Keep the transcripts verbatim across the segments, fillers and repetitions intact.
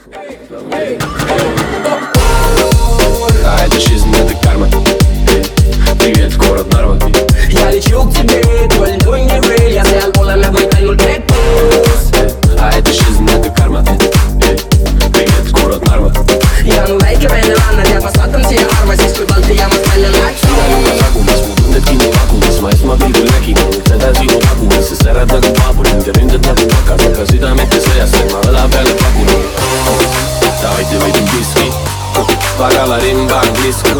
А это жизнь, это карма. Привет, город Нарва. Я лечу к тебе, твой льдой не вы. Я взял полами выкинул кэктус. А это жизнь, это карма. Привет, город Нарва. Я ну лайки венелана, я посадам тебе арма. Здесь твой балты, я мастелен лайксу. Nägin vakumis, ma esmapilgul nägin seda sinu tagumis, sest särad nagu paabulin ja ründad nagu pakas, aga südamete sõjas ma õla peale pakun. Davайте võidin viski, pagala rimba on disku.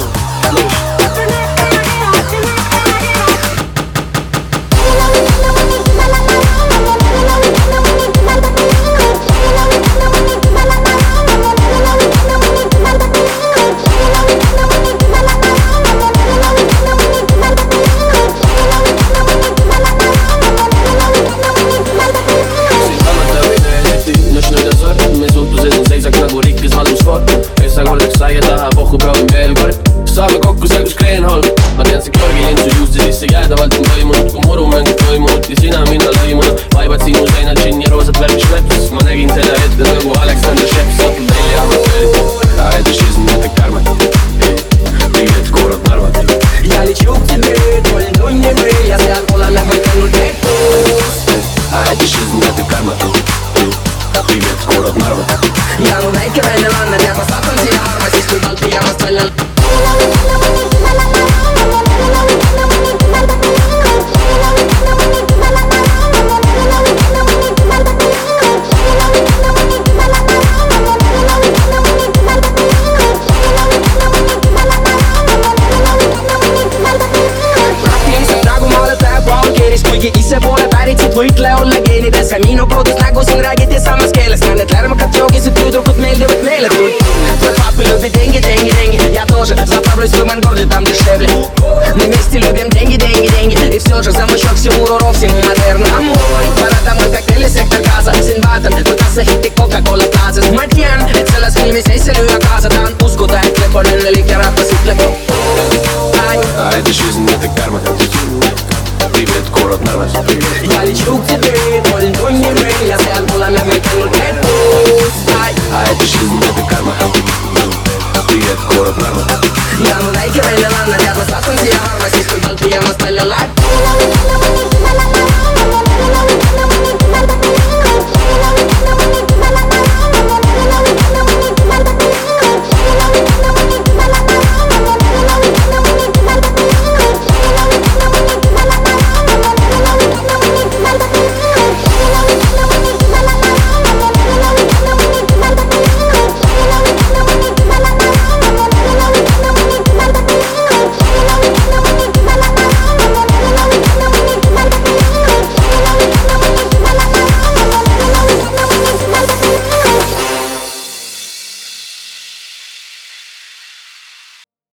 Sai ja taha pohku proovin veel kord. Saame kokku seal kus Kreenholm. Ma tean see Georgi linn su juuste sisse jäädavalt on toimunud. Kui murumängud toimunud ja sina minna lõimunud. Vaibad sinu seinad, džinn ja roosad värvi šleps. Ma nägin selle ette nagu Alexander Šeps. Satud välja amatöörid. А это жизнь, это карма. Привет, город Нарва. Я лечу к тебе, твой льдой не вы. Я взял полами выкинул кэктус. А это жизнь, это карма. Привет, город Нарва. Я ну лайки венелана, я посадам тебе арма. Здесь твой балты, я мастелен. Kuigi ise pole pärit siit võitle olla geenides. Ka minu kodus nägu siin räägiti samas keeles. Ka need lärmakad joogised tüdrukud meeldivad meeletult. Твой папа любит деньги, деньги, деньги. Я тоже заправлюсь в авангарде, там дешевле. Мы вместе любим деньги, деньги, деньги. И все же замочок всему урок, всему модерну. А мой пора домой, коктейли, сектор газа. Синбатом, võtas see hitti Coca-Cola plaasas. Ma tean, et selles filmis ei see lüüa kaasa. Tahan uskuda, et lõpp on õnnelik ja rahvas ütleb. А это жизнь, это карма. Привет, город Нарва. Я лечу к тебе, твой льдой не вы. Я взял полами выкинул кэктус. А это жизнь, это карма. Привет, город Нарва. Я ну лайки венелана, я посадам тебе арма. Здесь твой балты, я мастелен лайксу.